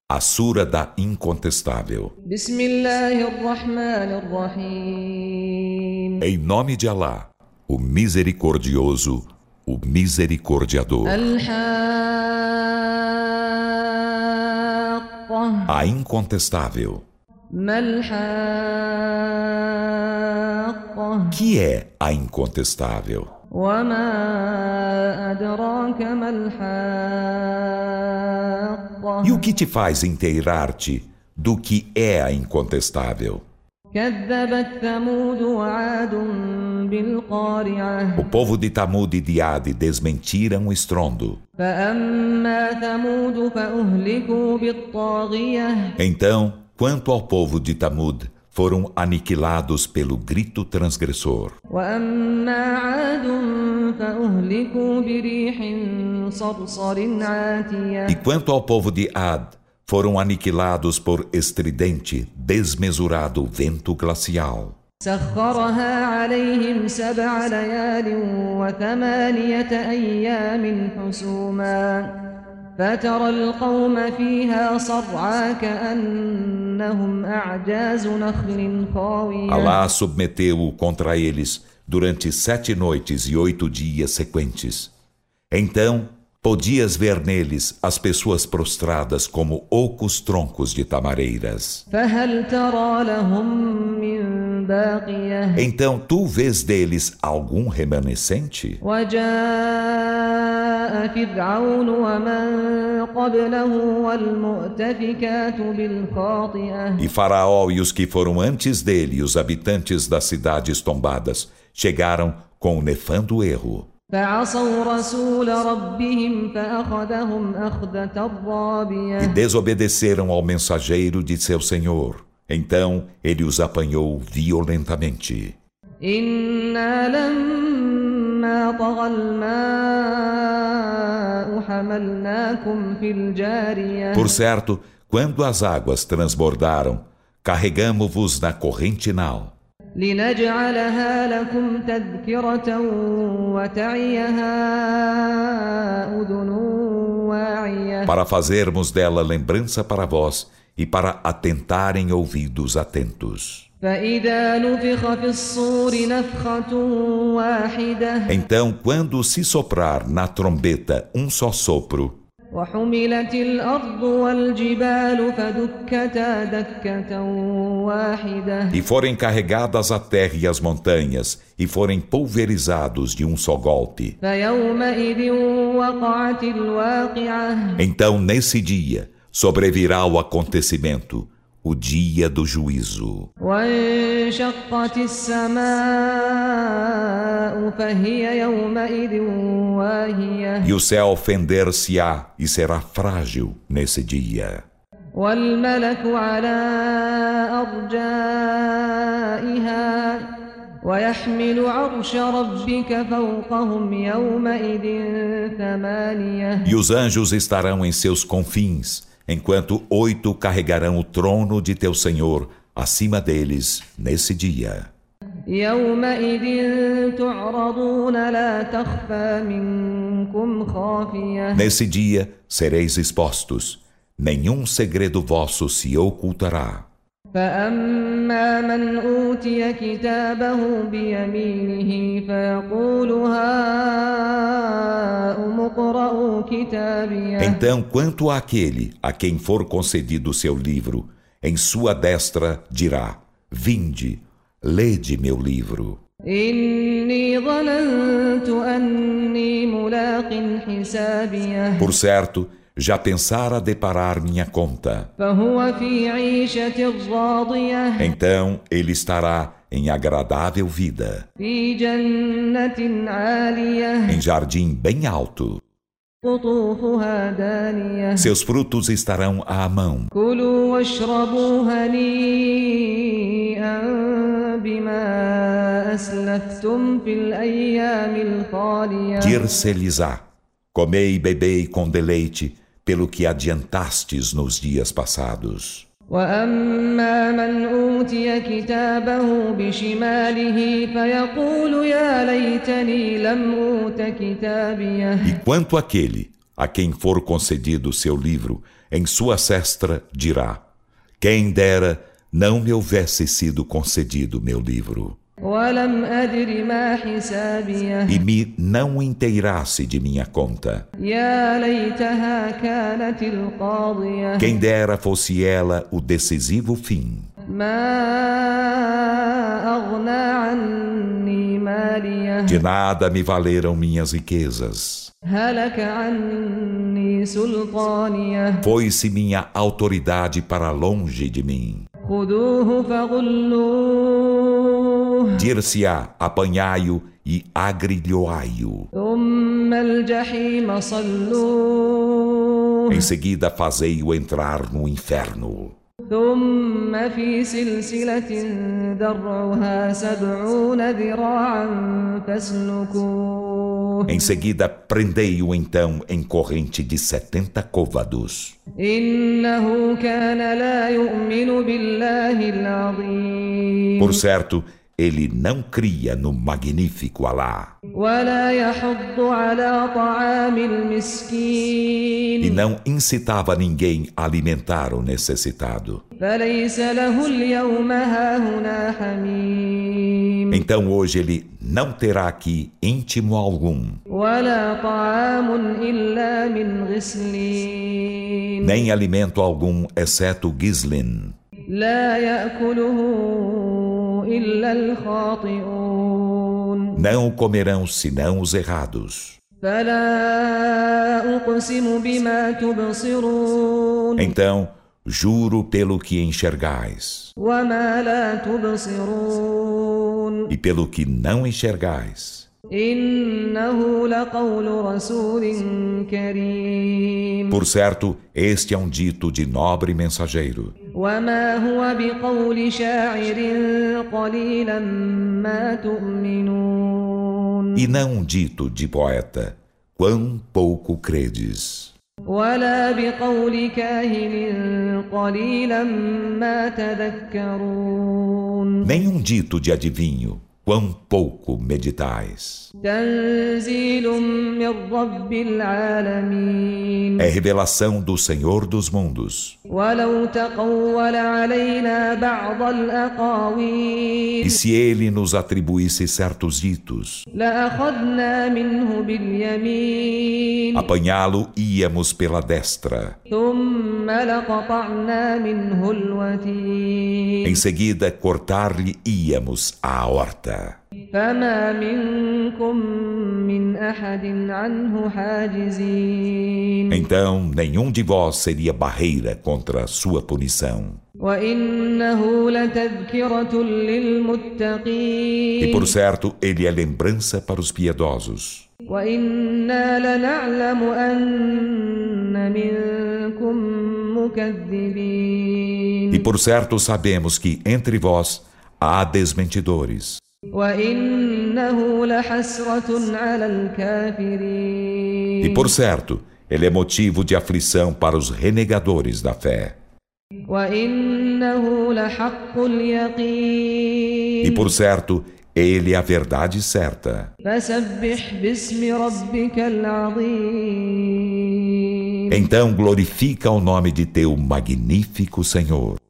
A Sura da Incontestável. Em nome de Alá, o Misericordioso, o Misericordiador. A Incontestável. Que é a Incontestável? E o que te faz inteirar-te do que é a Incontestável? O povo de Tamud e de Ad desmentiram o estrondo. Então, quanto ao povo de Tamud, foram aniquilados pelo grito transgressor. E quanto ao povo de Ad, foram aniquilados por estridente, desmesurado vento glacial. سخرها عليهم 7 ليال و8 أيام حسوما فترى القوم فيها صرعى كأنهم أعجاز نخل خاوية. Alá submeteu-o contra eles durante 7 noites e 8 dias sequentes. Então, podias ver neles as pessoas prostradas como ocos troncos de tamareiras. فهل ترى لهم من باقية. Então tu vês deles algum remanescente? وجاء فرعون ومن قبله والمؤتفكات بالخاطئة. E Faraó e os que foram antes dele, os habitantes das cidades tombadas, chegaram com o nefando erro. فعصوا رسول ربهم فأخذهم أخذة رابية. E desobedeceram ao mensageiro de seu Senhor. Então ele os apanhou violentamente. إنا لما طغى الماء حملناكم في الجارية. Por certo, quando as águas transbordaram, carregamo-vos na corrente nau. لنجعلها لكم تذكرة وتعيها أذن واعية. Para fazermos dela lembrança para vós e para atentarem ouvidos atentos. فإذا نفخ في الصور نفخة واحدة. Então, quando se soprar na trombeta um só sopro, وحملت الأرض والجبال فدكتا دكة واحدة. e forem carregadas a terra e as montanhas, e forem pulverizados de um só golpe, فيومئذ وقعت الواقعة. então nesse dia sobrevirá o acontecimento, o dia do juízo. وانشقت السماء فهي يومئذ واهية. E o céu fender-se-á e será frágil nesse dia. والملك على أرجائها ويحمل عرش ربك فوقهم يومئذ 8. E os anjos estarão em seus confins, enquanto 8 carregarão o trono de teu Senhor acima deles nesse dia. يومئذ تعرضون لا تخفى منكم خافية. Nesse dia sereis expostos, nenhum segredo vosso se ocultará. فأما من أوتي كتابه بيمينه فيقول هاؤم اقرءوا كتابيه. Então, quanto àquele a quem for concedido o seu livro, em sua destra dirá: Vinde, lede meu livro. إني ظننت أني ملاق حسابيه. Por certo, já pensara deparar minha conta. فهو في عيشة راضية. Então ele estará em agradável vida, في جنة عالية. em jardim bem alto. قطوفها دانية. Seus frutos estarão à mão. كلوا واشربوا هنيئا بما أسلفتم في الأيام الخالية. Dir-se-lhes-á: Comei e bebei com deleite pelo que adiantastes nos dias passados. وأما من أوتي كتابه بشماله فيقول يا ليتني لم أوت كتابيه. E quanto àquele A quem for concedido seu livro, em sua cestra dirá: quem dera não me houvesse sido concedido meu livro, ولم أدر ما حسابيه e me não inteirasse de minha conta. يا ليتها كانت القاضية Quem dera fosse ela o decisivo fim. ما أغنى عني ماليه De nada me valeram minhas riquezas. هلك عني سلطانيه Foi-se minha autoridade para longe de mim. خذوه فغلوه Dir-se-á, apanhai-o e agrilhoai-o. ثم الجحيم صلوه Em seguida fazei-o entrar no inferno. ثم في سلسلة درعها 70 ذراعا فاسلكوه Em seguida prendei-o então em corrente de 70 côvados. إنه كان لا يؤمن بالله العظيم Por certo, ele não cria no magnífico Alá ولا يحض على طعام e المسكين não incitava ninguém a alimentar o necessitado. فليس له اليوم هاهنا حميم Então hoje ele não terá aqui íntimo algum, ولا طعام إلا من غسلين nem alimento algum, exceto gislin. لا يأكله إلا الخاطئون Não o comerão senão os errados. فلا أقسم بما تبصرون Então, juro pelo que enxergais وما لا تبصرون e pelo que não enxergais. إنه لقول رسول كريم Por certo, este é um dito de nobre mensageiro, وما هو بقول شاعر قليلا ما تؤمنون e não um dito de poeta, quão pouco credes. ولا بقول كاهن قليلا ما تذكرون Nem um dito de adivinho, quão pouco meditais. تنزيل من رب العالمين É revelação do Senhor dos mundos. ولو تقول علينا بعض E الأقاويل se ele nos atribuísse certos ditos, لأخذنا منه باليمين apanhá-lo íamos pela destra. ثم لقطعنا منه الوتين Em seguida, cortar-lhe íamos a horta. فما منكم من أحد عنه حاجزين Então, nenhum de vós seria barreira contra sua punição. وإنه لتذكرة E للمتقين por certo, ele é lembrança para os piedosos. وإنا لنعلم أن منكم مكذبين E por certo, sabemos que entre vós há desmentidores. وإنه لحسرة على الكافرين E por certo, ele é motivo de aflição para os renegadores da fé. وإنه لحق اليقين E por certo, ele é a verdade certa. فسبح باسم ربك العظيم Então glorifica o nome de teu magnífico Senhor.